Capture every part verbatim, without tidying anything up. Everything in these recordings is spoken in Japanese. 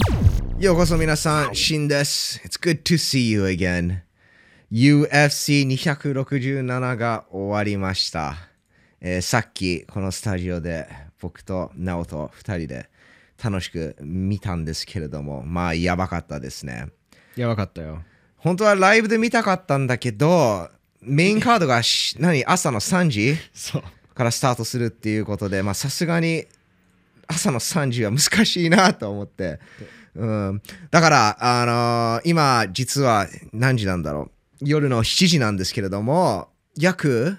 ようこそ皆さん、シンです。It's good to see you again.ユーエフシーにひゃくろくじゅうなな が終わりました、えー。さっきこのスタジオで僕とナオとふたりで楽しく見たんですけれども、まあやばかったですね。 やばかったよ。 本当はライブで見たかったんだけど、メインカードが何朝のさんじからスタートするっていうことで、まあさすがに朝のさんじは難しいなと思って。うん、だから、あのー、今実は何時なんだろう、夜のしちじなんですけれども、約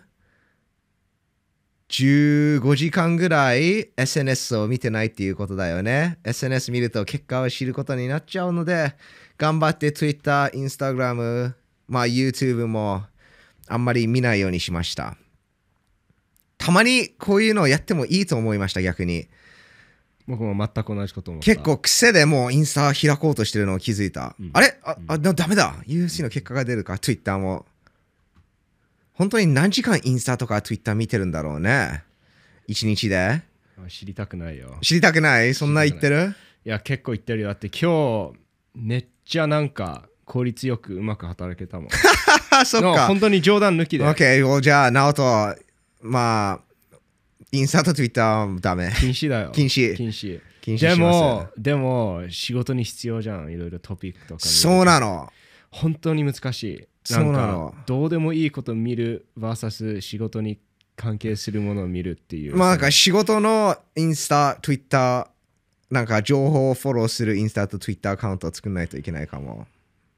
じゅうごじかんぐらい エスエヌエス を見てないっていうことだよね。 エスエヌエス 見ると結果を知ることになっちゃうので、頑張って Twitter、Instagram、まあ YouTube もあんまり見ないようにしました。たまにこういうのをやってもいいと思いました。逆に僕も全く同じこと思った。 結構癖でもうインスタ開こうとしてるのを気づいた、うん、あれあ、あ、ダメだ ユーエフシー の結果が出るか、 Twitter も本当に何時間インスタとか Twitter 見てるんだろうね、一日で。 知りたくないよ。 知りたくない？そんな言ってる？ いや結構言ってるよ。だって今日めっちゃなんか効率よくうまく働けたもん。 そっか、 本当に冗談抜きで。 OK、じゃあナオト、まあインスタと Twitter はダメ。 禁止だよ。 禁止。 禁止。 禁止でも、でも仕事に必要じゃん。いろいろトピックとか。 そうなの。 本当に難しい。 そうなの。 どうでもいいことを見る vs 仕事に関係するものを見るっていう。 まあなんか仕事のインスタ、Twitter、なんか情報をフォローするインスタと Twitter アカウントを作らないといけないかも。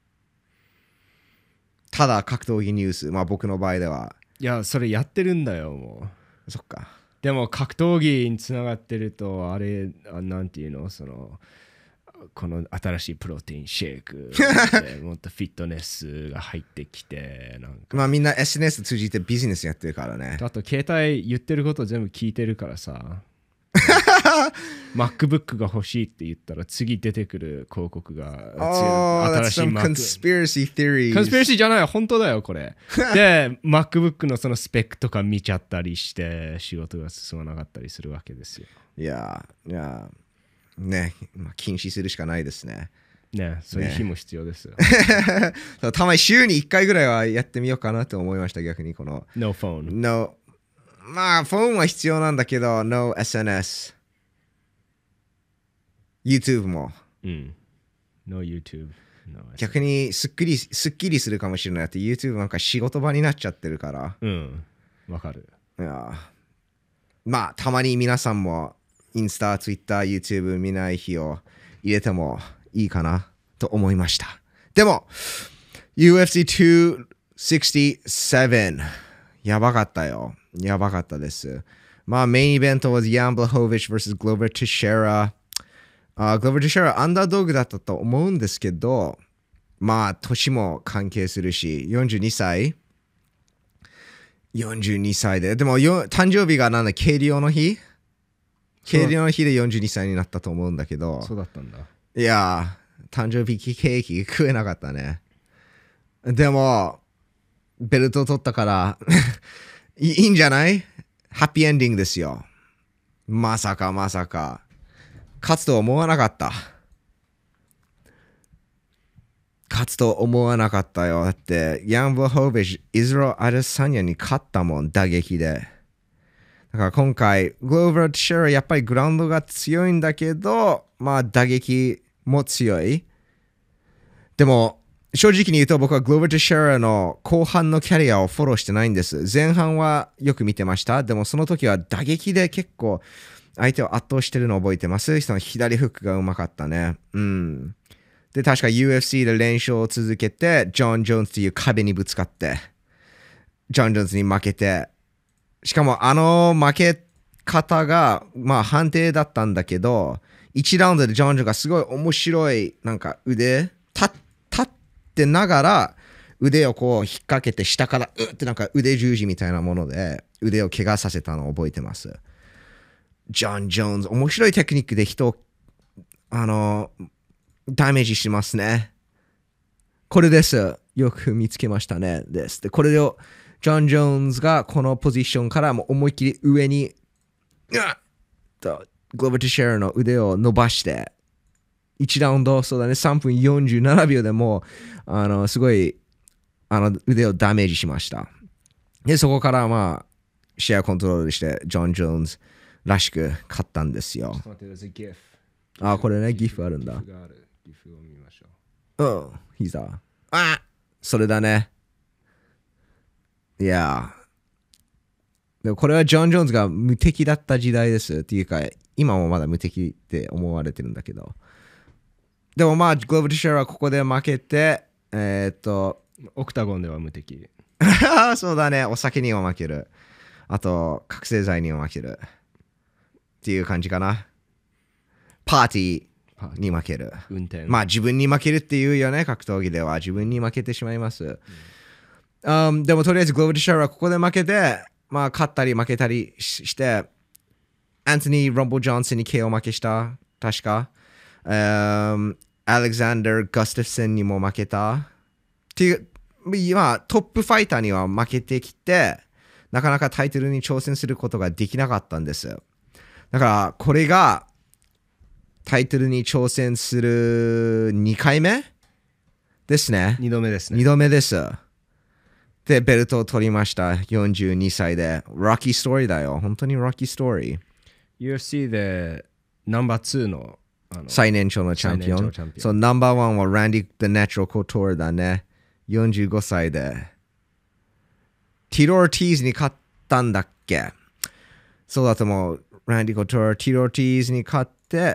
ただ格闘技ニュース、まあ僕の場合では。 いや、それやってるんだよ、もう。そっか。 でも格闘技につながってるとあれなんていうの、そのこの新しいプロテインシェイクでもっとフィットネスが入ってきて、なんかまあみんな エスエヌエス 通じてビジネスやってるからね。 あと携帯言ってること全部聞いてるからさ。MacBook が欲しいって言ったら次出てくる広告が、 oh, 新しい Mac。Conspiracy theories。 Conspiracy じゃない、本当だよこれ。で MacBook のそのスペックとか見ちゃったりして仕事が進まなかったりするわけですよ。 いやいやね、まあ、禁止するしかないですね。 ね、そういう日も必要ですよ。 ね、たまに週にいっかいぐらいはやってみようかなと思いました。逆にこの No phone。 No、まあ、フォンは必要なんだけど、No エスエヌエス。YouTube も。 うん。No YouTube。 逆にすっきり、すっきりするかもしれないって、YouTube なんか仕事場になっちゃってるから。 うん。わかる。 いや。まあ、たまに皆さんも、インスタ、Twitter、YouTube 見ない日を入れてもいいかなと思いました。でも、ユーエフシーにひゃくろくじゅうなな。やばかったよ。やばかったです。まあ、メインイベントは Jan Blachowicz vs Glover Teixeira。あ、Glover Teixeira アンダードッグだったと思うんですけど、まあ、年も関係するし、よんじゅうにさい ?よんじゅうにさいで。でも、誕生日がなんだ、計量の日計量の日でよんじゅうにさいになったと思うんだけど。 そうだったんだ。 いや、誕生日ケーキ食えなかったね。でも、ベルト取ったからいいんじゃない？ハッピーエンディングですよ。まさかまさか。勝つと思わなかった。勝つと思わなかったよ。だって、ヤン・ブラホビッチ、イズロ・アデサニアに勝ったもん、打撃で。だから今回、グローバー・ティシェラやっぱりグラウンドが強いんだけど、まあ打撃も強い。でも、正直に言うと僕はグローバー・ティシェラの後半のキャリアをフォローしてないんです。前半はよく見てました。でもその時は打撃で結構相手を圧倒してるのを覚えてます。その左フックがうまかったね。うん。で、確か ユーエフシー で連勝を続けて、ジョン・ジョーンズという壁にぶつかって、ジョン・ジョーンズに負けて、しかもあの負け方が、まあ判定だったんだけど、いちラウンドでジョン・ジョーンズがすごい面白い、なんか腕、立ってながら、腕をこう引っ掛けて下から、うってなんか腕十字みたいなもので、腕を怪我させたのを覚えてます。ジョン・ジョーンズ、面白いテクニックで人を、あの、ダメージしますね。これです。よく見つけましたね。です。で、これを、ジョン・ジョーンズがこのポジションからも思いっきり上に、うっと、グローバー・ティシェラの腕を伸ばして、 いちラウンド、そうだね、さんぷんよんじゅうななびょうでもう、あの、すごい、あの、腕をダメージしました。で、そこからまあ、試合コントロールして、ジョン・ジョーンズらしく勝ったんですよ。あ、これね、ギフあるんだ。 ギフがある。ギフを見ましょう。うん、膝。あ、それだね。いや。でもこれはジョン・ジョーンズが無敵だった時代ですっていうか、今もまだ無敵って思われてるんだけど。でもまあ、グローブ・ティシェラはここで負けて、えー、っと、 オクタゴンでは無敵。 そうだね、お酒には負ける。あと、覚醒剤には負ける。っていう感じかな。パーティーに負ける。 運転。 まあ、自分に負けるっていうよね、格闘技では。自分に負けてしまいます。うんUm, でもとりあえずグローブ・ティシャーはここで負けて、まあ勝ったり負けたりして、アントニー・ロンボ・ジョンソンに ケーオー 負けした。確か。Um, アレクサンダー・ガステフソンにも負けた。っていう、まあトップファイターには負けてきて、なかなかタイトルに挑戦することができなかったんです。だからこれがタイトルに挑戦するにかいめですね。 にどめですね。 にどめです。で、ベルトを取りました。よんじゅうにさいで。ロッキーストーリーだよ。本当にロッキーストーリー。 ユーエフシー でナンバーツーの、あの最年長のチャンピオン。そう、ナンバーワンはランディ・The Natural Couture だね。よんじゅうごさいで。ティロ・オルティーズに勝ったんだっけ？そうだと思う。ランディ・コトー、ティロ・オルティーズに勝って。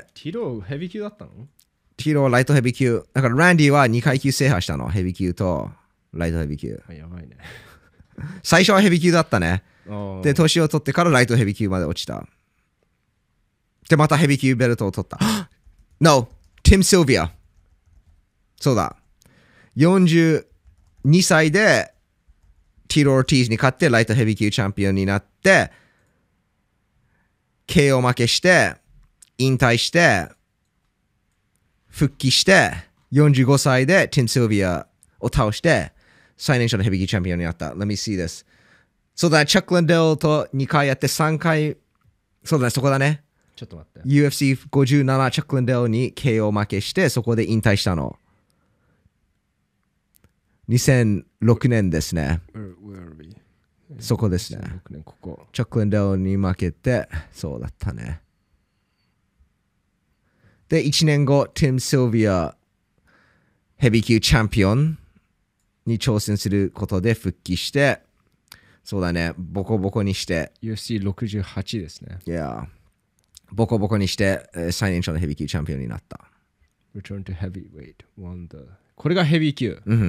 ティロヘビー級だったの？ ティロライトヘビー級。だからランディはにかい級制覇したの。ヘビー級と。ライトヘビー級。 やばいね。 最初はヘビー級だったね。で、年を取ってからライトヘビー級まで落ちた。で、またヘビー級ベルトを取った。No! ティム・シルビア。そうだ。よんじゅうにさいでティロ・オルティーズに勝ってライトヘビー級チャンピオンになって、ケーオー 負けして、引退して、復帰して、よんじゅうごさいでティム・シルビアを倒して、最年少のヘビー級チャンピオンになった。Let me see this. そうだね、チャック・ランデルとにかいやってさんかい、そうだね、そこだね。 ちょっと待って。 ユーエフシーごじゅうなな チャック・ランデルに ケーオー 負けして、そこで引退したの。にせんろくねんですね。 Where, where are we? そこですね。 にせんろくねんここ。 チャック・ランデルに負けて、そうだったね。で、いちねんご、ティム・シルビア、ヘビー級チャンピオンに挑戦することで復帰して、そうだね、ボコボコにして、 ユーエフシーろくじゅうはち ですね。 いや、ボコボコにして、えー最年少のヘビー級チャンピオンになった。 Return to heavyweight. Won the... これがヘビー級。 うん。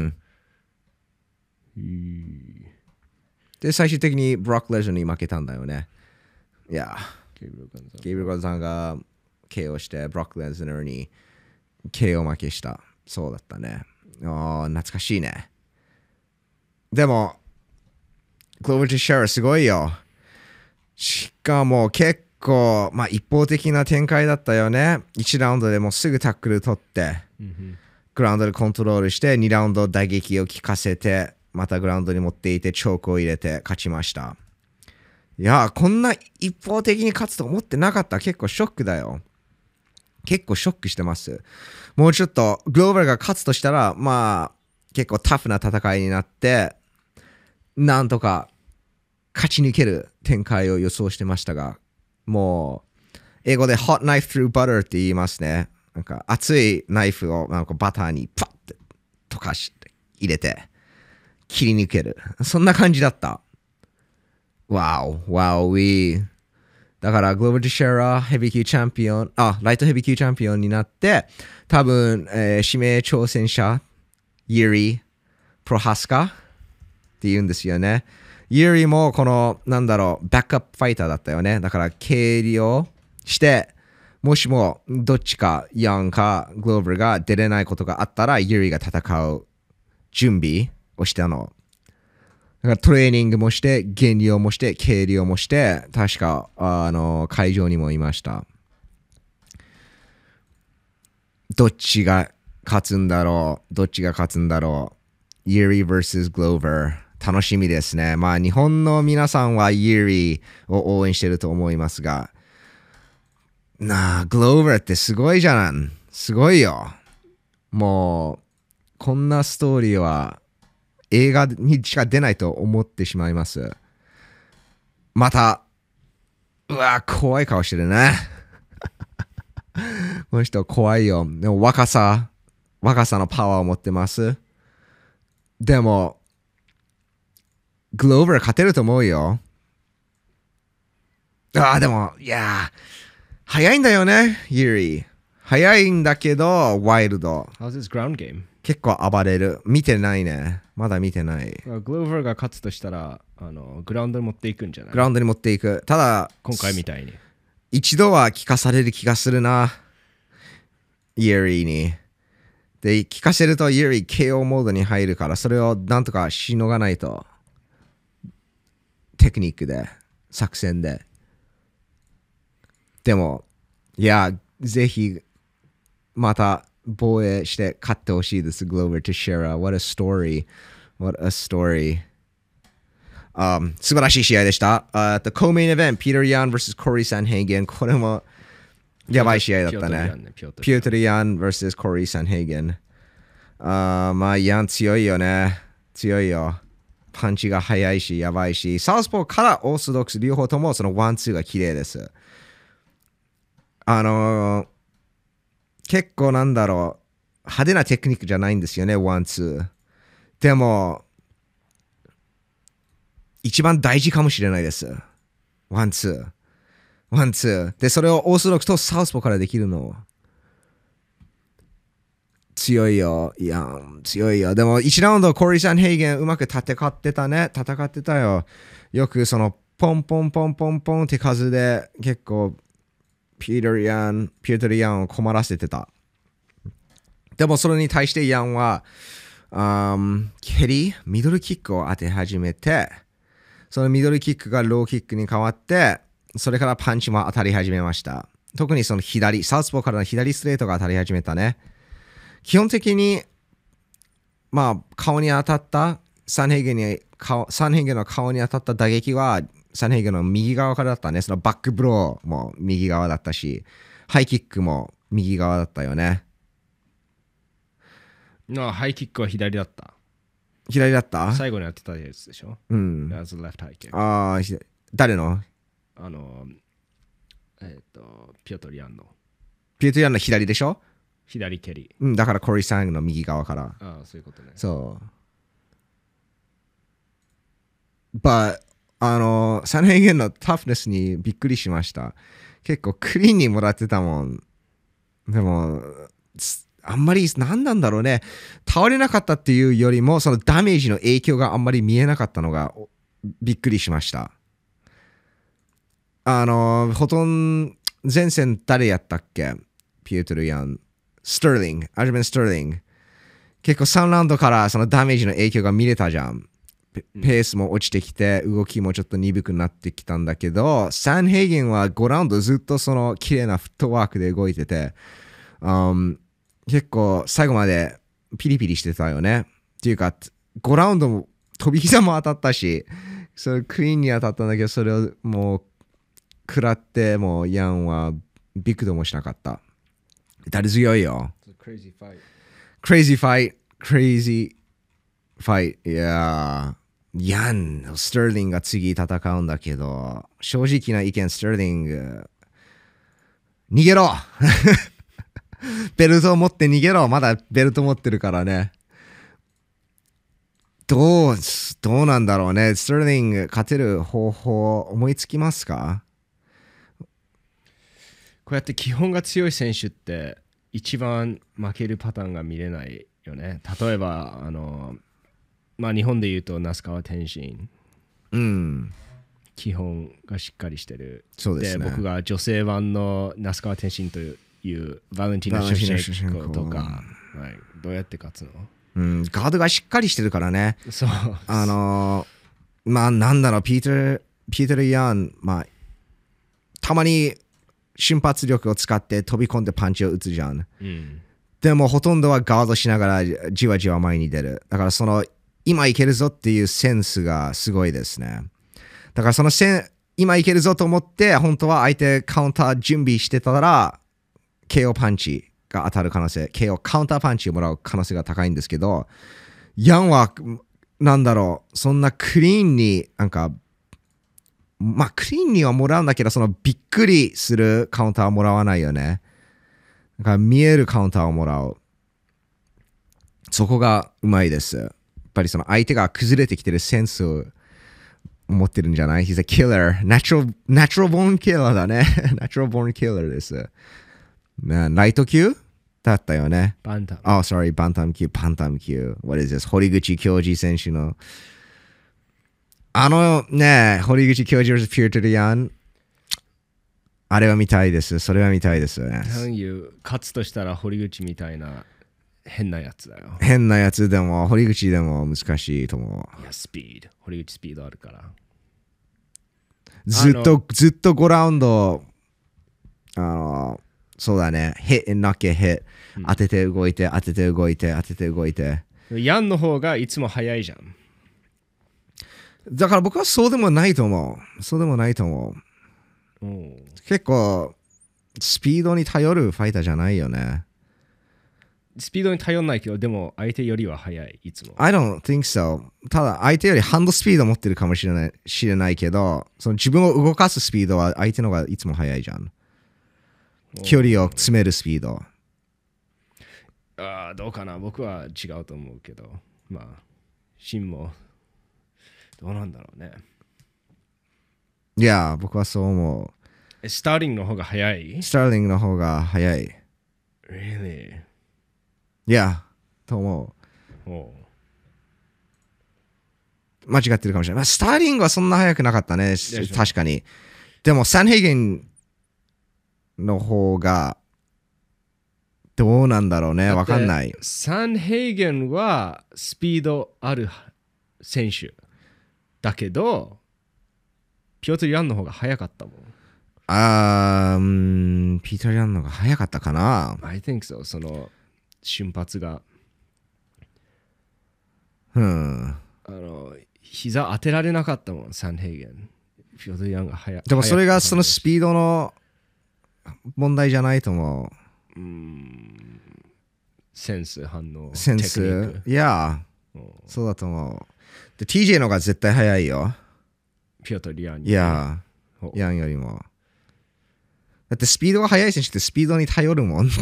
で、最終的にブロック・レジョンに負けたんだよね。いや、 ゲイブル・ガンザゲイブル・ガンザンが ケーオー して、ブロック・レズナーに ケーオー 負けした。そうだったね。ああ、懐かしいね。でも、グローバル・ティシャーすごいよ。しかも結構、まあ一方的な展開だったよね。いちラウンドでもうすぐタックル取って、グラウンドでコントロールして、にラウンド打撃を効かせて、またグラウンドに持っていて、チョークを入れて勝ちました。いや、こんな一方的に勝つと思ってなかった。結構ショックだよ。結構ショックしてます。もうちょっとグローバルが勝つとしたら、まあ結構タフな戦いになって、なんとか勝ち抜ける展開を予想してましたが、もう英語で hot knife through butter って言いますね。なんか熱いナイフをなんかバターにパッて溶かして入れて切り抜ける。そんな感じだった。わお、わお、ウィー。だから、グローバル・ティシェラ、ヘビー級チャンピオン、あ、ライトヘビー級チャンピオンになって、多分、えー、指名挑戦者、ユーリ・プロハスカって言うんですよね。ユーリも、この、なんだろう、バックアップファイターだったよね。だから、経理をして、もしも、どっちか、ヤンか、グローバルが出れないことがあったら、ユーリが戦う準備をしたの。だからトレーニングもして、減量もして、計量もして、確か、あの、会場にもいました。どっちが勝つんだろうどっちが勝つんだろうユーリ vs グローバー。楽しみですね。まあ、日本の皆さんはユーリを応援してると思いますが、なあ、グローバーってすごいじゃん。 すごいよ。もう、こんなストーリーは映画にしか出ないと思ってしまいます。また、うわ、怖い顔してるね。この人怖いよ。でも若さ、若さのパワーを持ってます。でも、グローバー勝てると思うよ。ああ、でも、いやー、早いんだよね、ユリー。早いんだけど、ワイルド。 How's his ground game? 結構暴れる。見てないね。まだ見てない。 グローバーが勝つとしたら、あのグラウンドに持っていくんじゃない？ グラウンドに持っていく。ただ、 今回みたいに。 一度は聞かされる気がするな。ユリーに。で、聞かせるとユリー ケーオー モードに入るから、それをなんとかしのがないと。テクニックで、作戦で。でも、いや、ぜひ、また防衛して勝ってほしいです、グローバーとシェラ。What a story. What a story.、Um, 素晴らしい試合でした。Uh, the co-main event, Peter Yan vs. Corey Sanhagen。これもやばい試合だったね。ピュートル・ヤン vs. コーリー・サンヘイゲン。あーまあ、ヤン強いよね。強いよ。パンチが速いし、やばいし、サウスポーからオーソドックス両方ともそのワンツーが綺麗です。あのー、結構なんだろう、派手なテクニックじゃないんですよね、ワンツー。でも、一番大事かもしれないです。ワンツー。ワンツー。で、それをオーソドックスとサウスポーからできるの。強いよ。いや、強いよ。でも、いちラウンド、コーリー・サンヘイゲンうまく戦ってたね。戦ってたよ。よくその、ポンポンポンポンポンって数で、結構、ピーター・ヤン、ピーター・ヤンを困らせてた。でも、それに対してヤンは、um、蹴り、ミドルキックを当て始めて、そのミドルキックがローキックに変わって、それからパンチも当たり始めました。特にその左、サウスポーからの左ストレートが当たり始めたね。基本的に、まあ、顔に当たった、サンヘイゲンに、サンヘイゲンの顔に当たった打撃は、サンヘイゲンの右側からだったね。そのバックブローも右側だったし、ハイキックも右側だったよね。 ああ、ハイキックは左だった。 左だった？ 最後にやってたやつでしょ？ うん。 That's a left high kick. ああ、誰の？ あの、えっ、ー、と、ピョトリアンの。 ピュートリアンの左でしょ？ 左蹴り。 うん、だからコリーさんの右側から。 ああ、そういうことね。 そう。But、あの、サンヘイゲンのタフネスにびっくりしました。結構クリーンにもらってたもん。でも、あんまり何なんだろうね。倒れなかったっていうよりも、そのダメージの影響があんまり見えなかったのがびっくりしました。あの、ほとんど前線誰やったっけ？ピュートル・ヤン。スターリング。アジメン・スターリング。結構さんラウンドからそのダメージの影響が見れたじゃん。ペースも落ちてきて、動きもちょっと鈍くなってきたんだけど、サンヘイゲンはごラウンドずっとその綺麗なフットワークで動いてて、um、結構最後までピリピリしてたよね。っていうか、ごラウンドも飛び膝も当たったし、それクリーンに当たったんだけど、それをもう食らって、もうヤンはビクともしなかった。誰強いよ。 Crazy fight. Crazy fight. Crazy fight. いやー、ヤン、スターリングが次戦うんだけど、正直な意見、スターリング、逃げろベルトを持って逃げろ。まだベルト持ってるからね。どう、どうなんだろうね。スターリング勝てる方法思いつきますか？ こうやって基本が強い選手って一番負けるパターンが見れないよね。例えば、あの、まあ日本で言うと那須川天心。 うん。 基本がしっかりしてる。 そうですね。 で、僕が女性版の那須川天心といういうバレンティナ・シュシェンコとか、はい、どうやって勝つの？ うん、ガードがしっかりしてるからね。 そう。 あのー、まあなんだろう、ピーター、ピーター・ヤン、まあ、たまに瞬発力を使って飛び込んでパンチを打つじゃん。 うん、 でもほとんどはガードしながらじわじわ前に出る。だからその、今いけるぞっていうセンスがすごいですね。だからそのセン、今いけるぞと思って、本当は相手カウンター準備してたら、ケーオー パンチが当たる可能性、ケーオー、カウンターパンチをもらう可能性が高いんですけど、ヤンは、なんだろう、そんなクリーンに、なんか、まあ、クリーンにはもらうんだけど、そのびっくりするカウンターはもらわないよね。だから見えるカウンターをもらう。そこがうまいです。やっぱりその相手が崩れてきてるセンスを持ってるんじゃない？ He's a killer. Natural, natural born killer だね。natural born killer です。ライト級だったよね。 バンタム。 Oh, sorry, バンタム級、パンタム級。What is this? 堀口教授選手の。あのね、堀口教授 vs ピュートリアン。あれは見たいです。それは見たいです。 なんいう、勝つとしたら堀口みたいな変なやつだよ。 変なやつでも、堀口でも難しいと思う。 いや、スピード。堀口スピードあるから。 ずっと、ずっとごラウンド、あの、そうだね、hit and knock it hit、うん、当てて動いて、当てて動いて、当てて動いて。 ヤンの方がいつも速いじゃん。 だから僕はそうでもないと思う。そうでもないと思う。結構、スピードに頼るファイターじゃないよね。 スピードに頼らないけど、でも相手よりは速い、いつも。 I don't think so. ただ、相手よりハンドスピードを持ってるかもしれない、知れないけど、その自分を動かすスピードは相手の方がいつも速いじゃん。距離を詰めるスピード。 ああ、どうかな。僕は違うと思うけど。まあ、シンも、どうなんだろうね。 いや、僕はそう思う。スターリングの方が速い？ スターリングの方が速い。 Really? いや、と思う。 Oh. 間違ってるかもしれない。スターリングはそんな速くなかったね。確かに。でも、サンヘイゲンの方が、どうなんだろうね。わかんない。 サンヘイゲンはスピードある選手だけど、ピョートル・ヤンの方が速かったもん。 あー、ピーター・ヤンの方が速かったかな。 I think so. その瞬発が。 うん。 あの、膝当てられなかったもん、サンヘイゲン。ピョートル・ヤンが速い。 でもそれがそのスピードの問題じゃないと思う。うん。センス、反応。 センス。いや、そうだと思う。で、ティージェー の方が絶対速いよ。 ピョートル・ヤンに。 いや、ヤンよりも。だってスピードが速い選手ってスピードに頼るもん。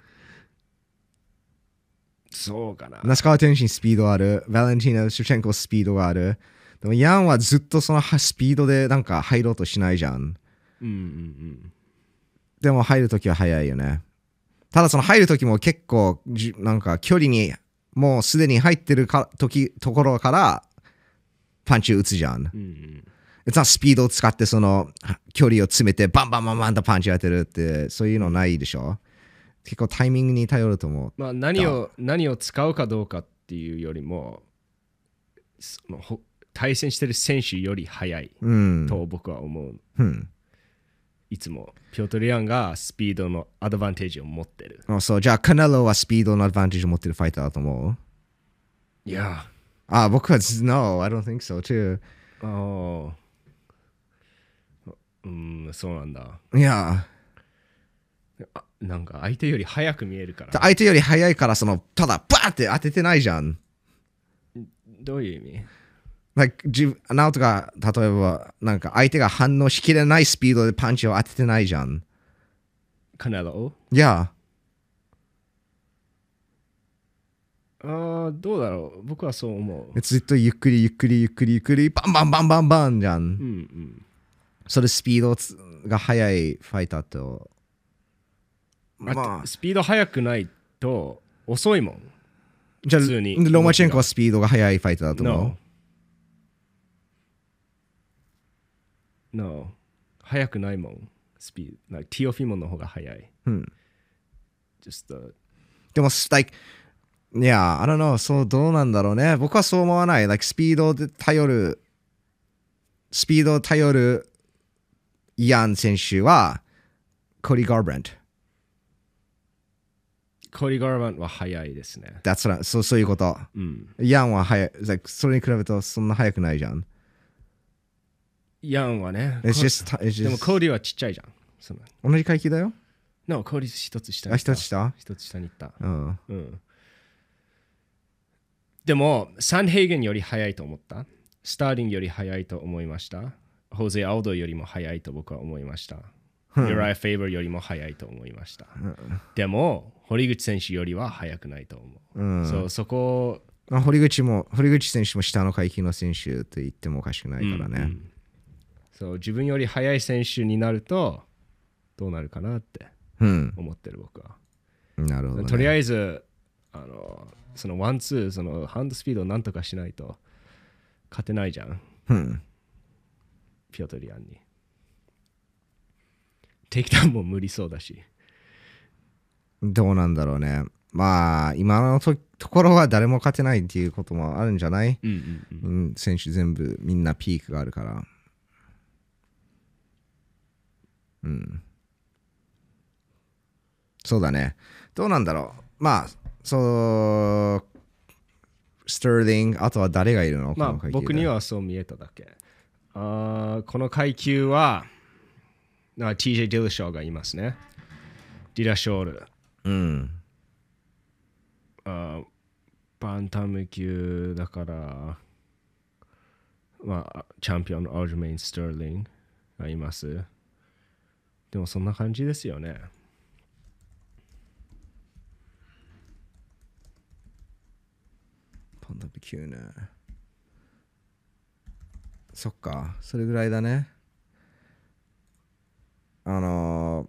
そうかな。 那須川天心スピードある。バレンティーナ・シュチェンコスピードがある。でもヤンはずっとそのスピードでなんか入ろうとしないじゃん。 うんうんうん。 でも入るときは速いよね。ただその入るときも結構なんか距離にもうすでに入ってるか時ところからパンチ打つじゃん。 うんうん、 スピードを使ってその距離を詰めてバンバンバンバンとパンチ当てるってそういうのないでしょ。結構タイミングに頼ると思う。 まあ何を何を使うかどうかっていうよりもその対戦してる選手より速いと僕は思う。 うん、 いつもピョートル・ヤンがスピードのアドバンテージを持ってる。 あ、そう、じゃあカネロはスピードのアドバンテージを持ってるファイターだと思う？ いや。 あ、僕は No, I don't think so too. ああ。うん、そうなんだ。 いや。 あ、なんか相手より速く見えるから。 相手より速いからそのただバーって当ててないじゃん。 どういう意味 ？Like 自ナオトが例えばなんか相手が反応しきれないスピードでパンチを当ててないじゃん。 カネロ？ いや。 ああ、どうだろう。僕はそう思う。 ずっとゆっくりゆっくりゆっくりゆっくりバンバンバンバンバンじゃん。うんうん。 それスピードが速いファイターと。 まあ、スピード速くないと遅いもん。 じゃあ、ロマチェンコはスピードが速いファイターだと思う？ No. No. 速くないもん。スピード。Like、ティオフィモンの方が速い。 うん。 Just the... でも、like、いや、I don't know、そうどうなんだろうね。僕はそう思わない。Like、スピードで頼る、スピードを頼るヤン選手は、コディ・ガーブラント。 コディ・ガーバントは速いですね。 That's right. そう、そういうこと。 うん、 ヤンは速い。Like、それに比べるとそんな速くないじゃん。 ヤンはね。 It's just, it's just... でもコディはちっちゃいじゃん。その同じ階級だよ。 No、効率一つ下にあ、 行った。 一つ下一つ下に行った。 うん。 うん。でも、サンヘイゲンより速いと思った。スターリングより速いと思いました。ホゼ・アウドよりも速いと僕は思いました。ユライ・フェイバーよりも速いと思いました。でも、堀口選手よりは速くないと思う。うん、そうそこ、 まあ、堀口も、堀口選手も下の階級の選手と言ってもおかしくないからね。うんうん、 そう自分より速い選手になると、どうなるかなって思ってる、僕は。 なるほど、ね。 とりあえず、あのそのワンツー、そのハンドスピードをなんとかしないと勝てないじゃん。 うん、 ピョトリアンに。テイクダウンも無理そうだし。 どうなんだろうね。まあ、今の と, ところは誰も勝てないっていうこともあるんじゃない、うんうんうん、選手全部みんなピークがあるから。うん。そうだね。どうなんだろう。まあ、そう、スターリング、あとは誰がいるの？ まあ、僕にはそう見えただけ。あこの階級は、ティージェー・ディラショーがいますね。ディラショール。 うん。 あバンタム級だから、まあ、チャンピオンのアルジュメイン・スターリングがいます。でもそんな感じですよね。 バンタム級ね。そっか、それぐらいだね。あのー、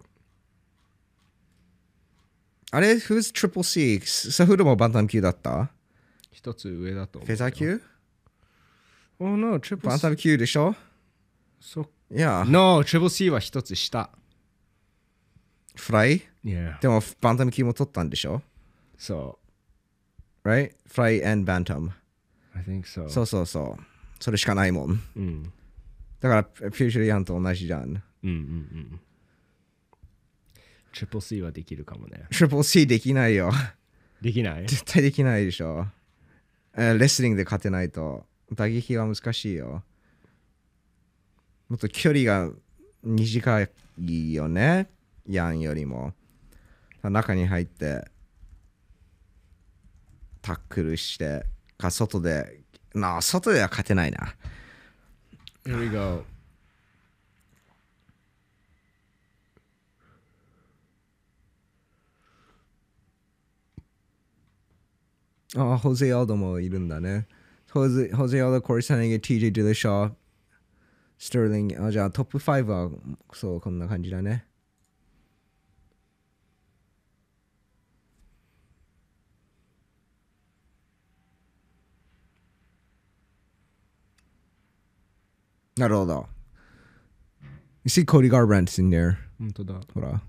あれ、Who's Triple C? サフルもバンタム級だった？ 一つ上だと思う。 フェザー級？ Oh no, Triple C。 バンタム級でしょ？ そいや。 No, Triple C は一つ下。 フライ？ Yeah。 でもバンタム級も取ったんでしょ？ そう。 Right? フライ and バンタム。 I think so。 そうそうそう。それしかないもん。 うん。 だから、フューチャーヤンと同じじゃん。 うんうんうん。トリプル C はできるかもね。 トリプル C できないよ。 できない？ 絶対できないでしょ。レスリングで勝てないと。打撃は難しいよ。もっと距離が短いよね。ヤンよりも。中に入って、タックルして、か外で、なあ、外では勝てないな。 Here we go。 ああ、ホゼ・アルドもいるんだね。ホゼ・ホゼ・アルド、コリサネゲ、ティージェー・ディラシャー、スターリング。あ、じゃあトップごは、そう、こんな感じだね。なるほど。You see Cody Garbrandt's in there. 本当だ。 ほら。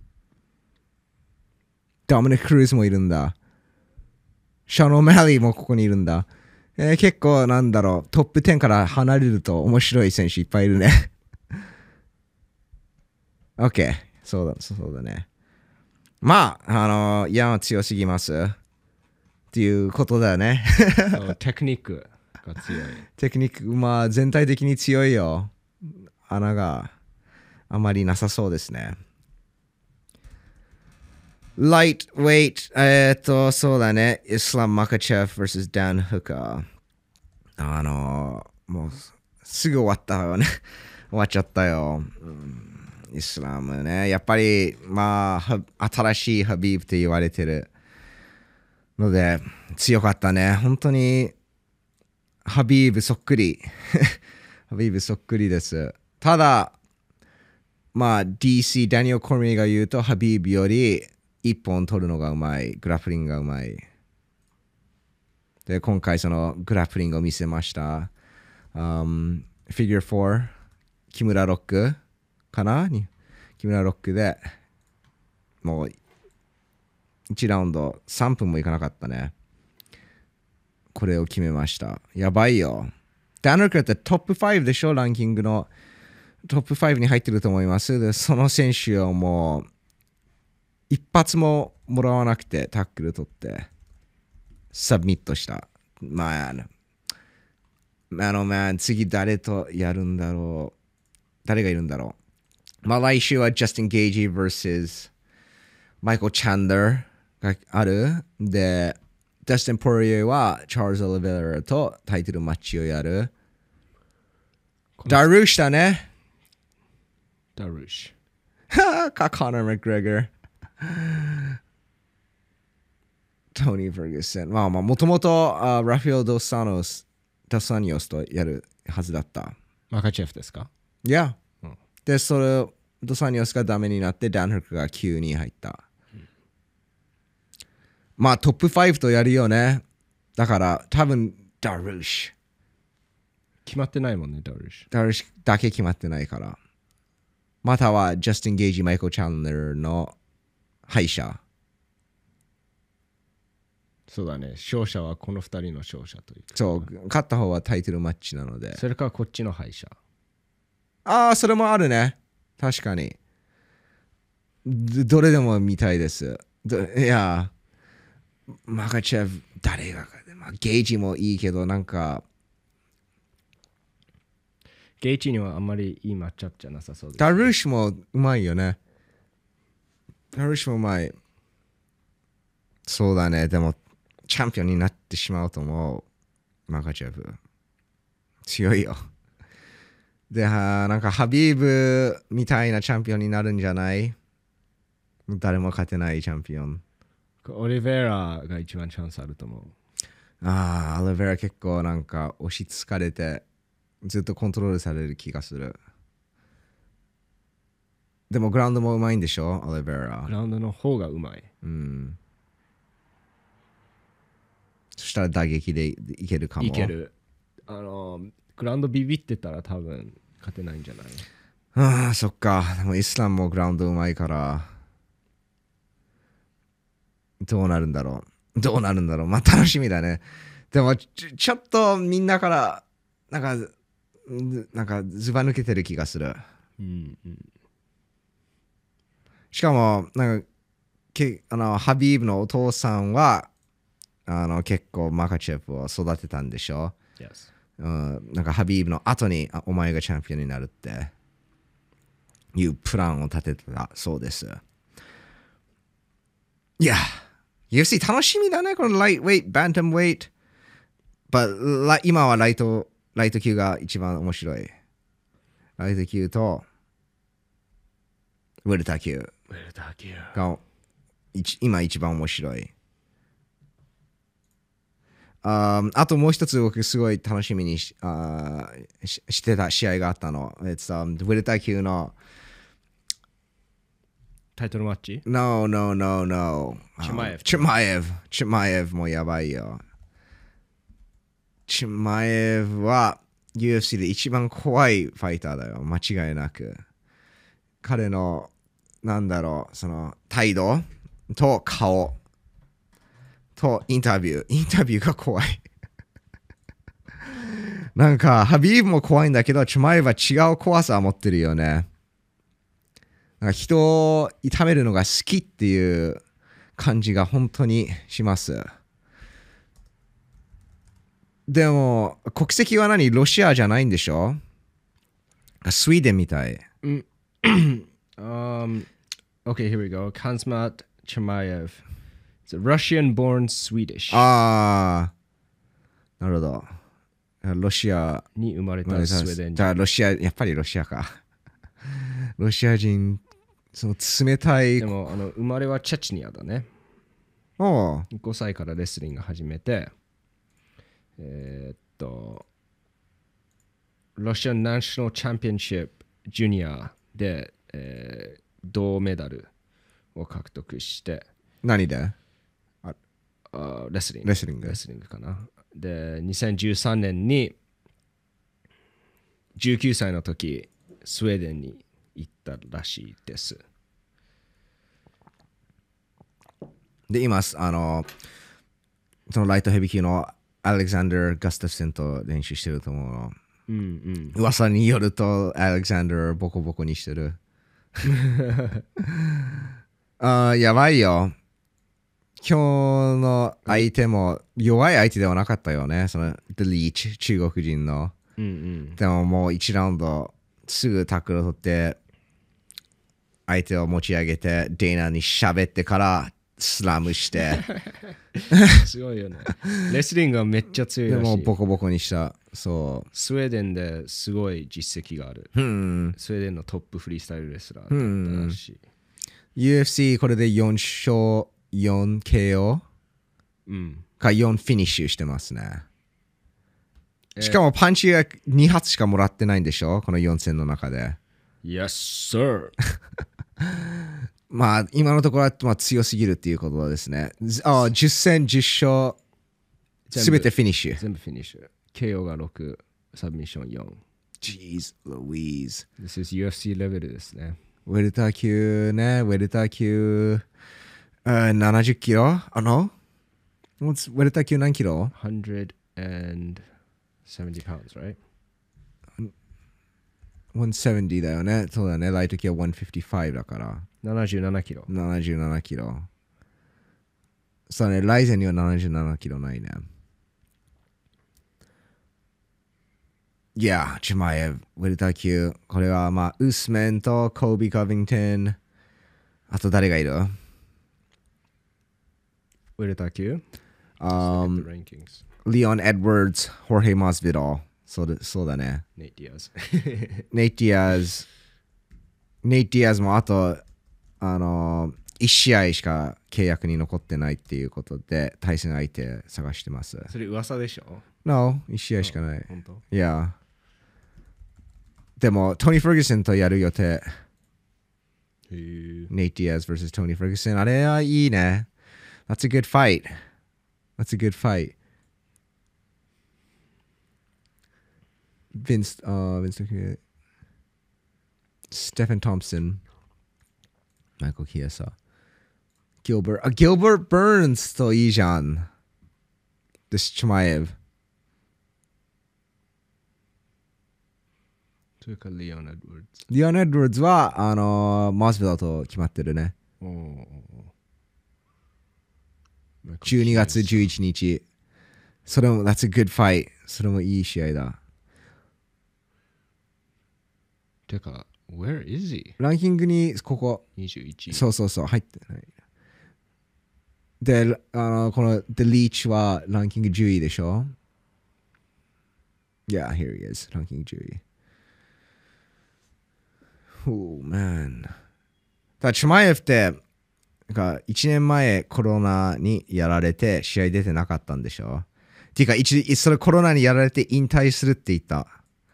ドミニク・クルーズもいるんだ。シャノー・マリーもここにいるんだ。えー、結構なんだろう、トップじゅうから離れると面白い選手いっぱいいるね。OK。そうだ、そうだね。まあ、あのー、ヤンは強すぎます。っていうことだよね。 テクニックが強い。 テクニック、まあ全体的に強いよ。穴があまりなさそうですね。Lightweight、えっと、そうだね。イスラム・マカチェフ vs ダン・フカー。あのー、もうすぐ終わったよね。終わっちゃったよ。うん、イスラムね。やっぱり、まあ、新しいハビーブって言われてるので、強かったね。本当に、ハビーブそっくり。ハビーブそっくりです。ただ、まあ、ディーシー、ダニエル・コルミーが言うと、ハビーブより、一本取るのがうまい。グラップリングがうまい。で、今回そのグラップリングを見せました。Um, フィギュアよん、木村ロックかな木村ロックで、もう、いちラウンドさんぷんもいかなかったね。これを決めました。やばいよ。ダン・ルックってトップごでしょランキングの。トップごに入ってると思います。で、その選手をもう、一発ももらわなくてタックル取ってサブミットした。まあ、あの、まあ、次誰とやるんだろう。誰がいるんだろう。まあ、来週は Justin Gagey vs マイコ・チャンダーがある。で、ダスティン・ポリエはチャールズ・オリベラとタイトルマッチをやる。ダルーシだね。 ダルーシ。 か、コナー・マクグレガー。トニー・ファーグソン。まあまあ、もともとラフェオ・ドスサノス、ドスサニオスとやるはずだった。 マカチェフですか？ いや。 うん、 で、それ、ドスサニオスがダメになって、ダン・フックがきゅうに入った。うん、まあ、トップごとやるよね。だから、多分、ダルーシ。 決まってないもんね、ダルーシ。 ダルーシだけ決まってないから。または、ジャスティン・ゲージ、マイコ・チャンネルの敗者。 そうだね。勝者はこのふたりの勝者という。 そう、勝った方はタイトルマッチなので。 それからこっちの敗者。 ああ、それもあるね。確かに。どれでも見たいです。いや、マカチェフ、誰が、まあ、ゲージもいいけど、なんか。 ゲージにはあんまりいいマッチアップじゃなさそうです、ね。 ダルーシもうまいよね。ダルーシもうまい。そうだね。でも、チャンピオンになってしまうと思う。マカチェフ。強いよ。で、なんかハビーブみたいなチャンピオンになるんじゃない？誰も勝てないチャンピオン。 オリベラが一番チャンスあると思う。 ああ、オリベラ結構なんか押しつかれてずっとコントロールされる気がする。でもグラウンドもうまいんでしょ、オリベラ。 グラウンドの方がうまい。 うん。そしたら打撃でいけるかも。 いける。あの、グラウンドビビってたら多分勝てないんじゃない？ ああ、そっか。でもイスラムもグラウンドうまいから。どうなるんだろう。どうなるんだろう。まあ楽しみだね。でもち、ちょっとみんなから、なんか、なんかずば抜けてる気がする。 うんうん、 しかも、なんか、けあのハビーブのお父さんは、あの結構マカチェフを育てたんでしょ、 yes. うん、なんかハビーブの後にあお前がチャンピオンになるっていうプランを立てたそうです。いや、ユーエフシー 楽しみだね、このライトウェイト、バンタムウェイト。But 今はライト、ライト級が一番面白い。ライト級とウェルター級が今一番面白い。あ, あともう一つ僕すごい楽しみに し, あし, してた試合があったの。It's, um, ウェルター級のタイトルマッチ No, no, no, no. チマエフ。 チマエフ。チマエフもやばいよ。チマエフは ユーエフシー で一番怖いファイターだよ。間違いなく。彼の、なんだろう、その態度と顔。とインタビュー。インタビューが怖い。なんか、ハビーブも怖いんだけど、チュマイは違う怖さを持ってるよね。なんか人を痛めるのが好きっていう感じが本当にします。でも、国籍は何？ロシアじゃないんでしょ？スウェーデンみたい。 um, okay, here we go. Kazmat Chimaev.It's a Russian-born Swedish. ああ、なるほど。ロシアに生まれたスウェーデン人。 じゃあロシア、やっぱりロシアか。ロシア人、その冷たい。 でも、あの生まれはチェチニアだね。 おう。 ごさいからレスリング始めて、えー、っと、ロシアンナショナルチャンピオンシップジュニアで、えー、銅メダルを獲得して、 何で？ あレスリング。 レスリング。 レスリングかな。で、にせんじゅうさんねんにじゅうきゅうさいの時、スウェーデンに行ったらしいです。 で、今、あの、そのライトヘビー級のアレクサンダー・ガスタフセンと練習してると思うの。 うんうん、 噂によると、アレクサンダーボコボコにしてる。あ、やばいよ。今日の相手も弱い相手ではなかったよね。その、The Leech、中国人の。 うんうん、 でももういちラウンドすぐタックルを取って、 相手を持ち上げて、デイナに喋ってからスラムして、 すごいよね。レスリングはめっちゃ強いでらしい。 もボコボコにした。そスウェーデンですごい実績がある。 う。うん。 スウェーデンのトップフリースタイルレスラーだったらしい。 ユーエフシー これでよん勝よん ケーオーうん。 かよんフィニッシュしてますね。しかもパンチがに発しかもらってないんでしょこのよん戦の中で。 Yes, sir. まあ今のところはまあ強すぎるっていうことですね。あじゅっ戦じゅっ勝すべてフィニッシュ。 全部フィニッシュ。ケーオー がろく、サブミッションよん。 Jeez, Louise. This is ユーエフシー レベルですね。 ウェルター級ね、ウェルター級、uh, ななじゅっキロあの What's ウェルター級何キロひゃくセブンティ pounds, right? ひゃくななじゅうだよね。そうだね。ライト級はひゃくごじゅうごだから。 ななじゅうななキロ。 ななじゅうななキロ。そうね。ライゼンにはななじゅうななキロないね。いや、チュマエブ、ウェルター級。これはまあ、ウスメンとコービー・コビントン。あと誰がいるウェルター級 um, rankings. リオン・エドワーズ、ホーヘイ・マスビド。そうだそうだね。 ネイティアーズ。 ネイティアーズ。ネイティアーズもあと、あのー、いち試合しか契約に残ってないっていうことで、対戦相手探してます。 それ噂でしょ No、いち試合しかない。 本当いや。でも、トニー・フェルグソンとやる予定。 へえ。 ネイティアーズ vs トニー・フェルグソン。あれはいいね。That's a good fight. That's a good fight. ヴィンス、あー、ヴィンストキュー。ステフェン・トンプソン。マイコ・キエサ。ギルバート、あ、ギルバート・バーンズといいじゃん。で、チュマエブ。 それからリオン・エドワーズ。 リオン・エドワーズは、あのー、マスビルと決まってるね。 おーじゅうにがつじゅういちにち。それも、that's a good fight. それもいい試合だ。 てか、where is he? ランキングに、ここ。 にじゅういちい。 そうそうそう、入ってない。で、あの、この、The Leech はランキングじゅういでしょ ?Yeah, here he is. ランキングじゅうい。Oh, man. だからチュマエフって、がいちねんまえコロナにやられて試合出てなかったんでしょっていうか一、それコロナにやられて引退するって言った。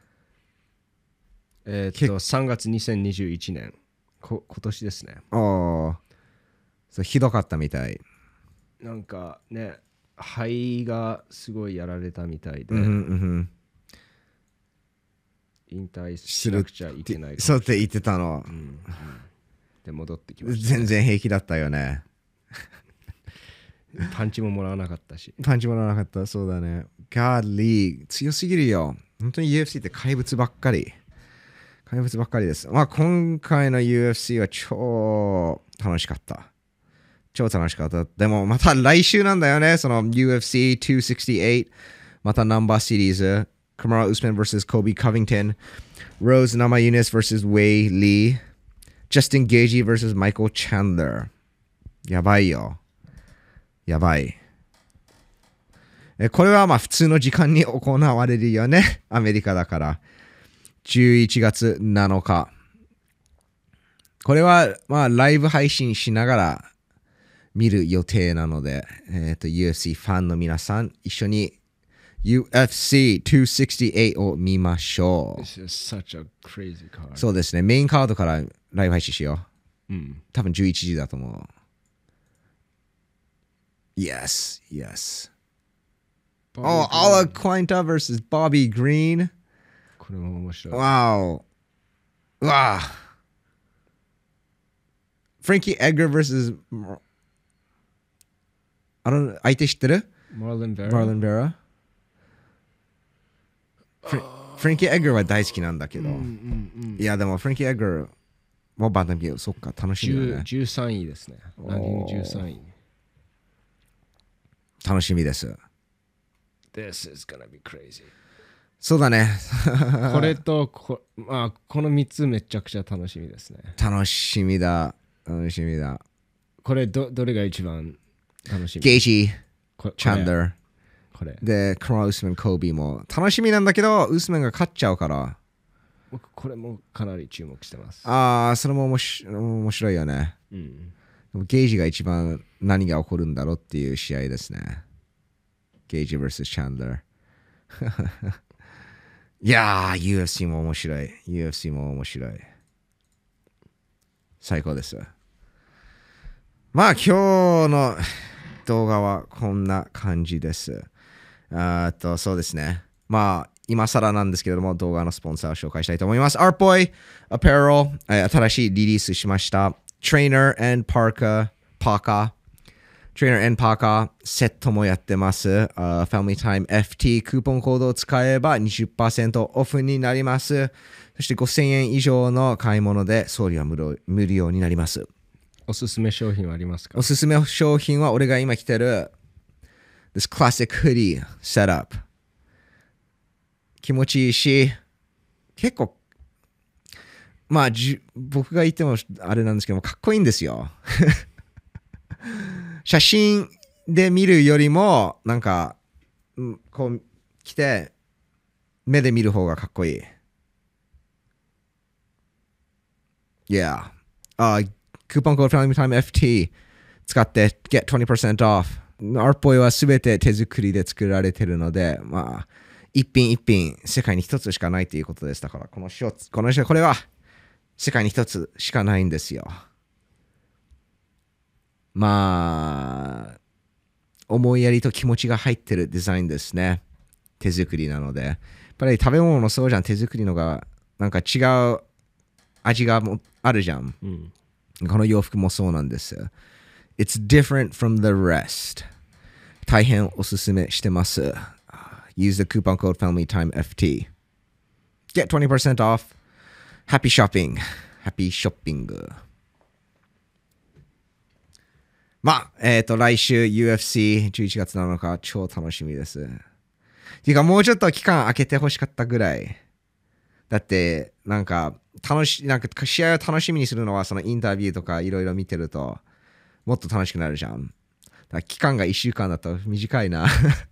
えーっと、さんがつにせんにじゅういちねん。こ今年ですね。 ああ。そうひどかったみたい。 なんかね、肺がすごいやられたみたいで、 うんうんうん引退しなくちゃいけない。 そうって言ってたの。 うんうん、で、戻ってきました、 全然平気だったよね。 パンチももらわなかったし。 パンチもらわなかった。そうだね。ガーリー、強すぎるよ。本当に ユーエフシー って怪物ばっかり。怪物ばっかりです。まあ今回の ユーエフシー は超楽しかった。超楽しかった。でもまた来週なんだよね。その ユーエフシーにひゃくろくじゅうはち。またナンバーシリーズ。Kamaru Usman vs. Kobe Covington. Rose Namajunas vs. Wei Lee. Justin Gaethje vs. Michael Chandler. やばいよ。やばい。え、これはまあ普通の時間に行われるよね。アメリカだから。じゅういちがつなのか。これはまあライブ配信しながら見る予定なので、えっと ユーエフシー ファンの皆さん一緒に ユーエフシーにひゃくろくじゅうはちを見ましょう。 This is such a crazy card. そうですね。メインカードからライブ配信しよう。うん。 多分じゅういちじだと思う。Yes, yes. Oh, Ala Quinta versus Bobby Green. これも面白い。 Wow. うわあ。Frankie Edgar versus あの相手知ってる Marlon Vera? Marlon Vera? フランキー・エッガーは大好きなんだけど、 うんうんうん、 いやでもフランキー・エッガーもバンタム級、そっか、楽しみだね。 じゅうさんいですね。ランキングじゅうさんい。 楽しみです。 This is gonna be crazy. そうだね。 これとこ、まあ、このみっつめちゃくちゃ楽しみですね。 楽しみだ。楽しみだ。 これど、どれが一番楽しみ？ ゲイジこー、チャンダー。 これ。 で、クロウスマン、コービーも楽しみなんだけど、ウスマンが勝っちゃうから。 僕、これもかなり注目してます。 ああ、それも面白面白いよね。 うん。 でもゲイジが一番何が起こるんだろうっていう試合ですね。ゲイジ vs チャンダー。いやー、ユーエフシー も面白い。ユーエフシー も面白い。最高です。まあ、今日の動画はこんな感じです。あと、そうですね。まあ、今更なんですけれども、動画のスポンサーを紹介したいと思います。Artboy Apparel、新しいリリースしました。Trainer and Parka、Parka。Trainer and Parka セットもやってます。Uh, Family Time エフティー クーポンコードを使えば にじゅっパーセント オフになります。そしてごせんえん以上の買い物で送料は無料無料になります。 おすすめ商品はありますか？ おすすめ商品は俺が今着てる This Classic Hoodie Setup。気持ちいいし、結構、まあじ僕が言ってもあれなんですけども、かっこいいんですよ。写真で見るよりも、なんか、こう着て、目で見る方がかっこいい。Yeah. あ、クーポンコード Family Time エフティー 使って Get にじゅっパーセント off。Artboy はすべて手作りで作られているので、まあ、一品一品、世界に一つしかないということです。だから、このショーツ、このショーツ、これは世界に一つしかないんですよ。まあ、思いやりと気持ちが入ってるデザインですね。手作りなので。やっぱり食べ物もそうじゃん。手作りのが、なんか違う味がもあるじゃん。うん、この洋服もそうなんです。It's different from the rest. 大変おすすめしてます。Use the coupon code FamilyTime エフティー. Get にじゅっパーセント off. Happy shopping. Happy shopping. まあ、えっと、来週 ユーエフシーじゅういちがつなのか超楽しみです。ていうか、もうちょっと期間空けてほしかったぐらい。だって、なんか、楽し、なんか試合を楽しみにするのは、そのインタビューとかいろいろ見てると、もっと楽しくなるじゃん。だから期間がいっしゅうかんだと短いな。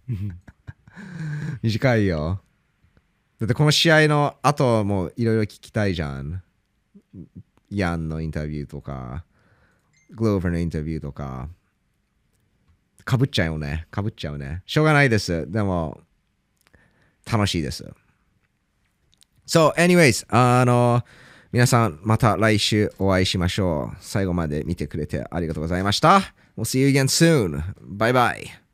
短いよ。だってこの試合の後もいろいろ聞きたいじゃん。ヤンのインタビューとか、グローバーのインタビューとか。かぶっちゃうよね。かぶっちゃうね。しょうがないです。でも、楽しいです。So, anyways, あの、皆さんまた来週お会いしましょう。最後まで見てくれてありがとうございました。We'll see you again soon. Bye bye.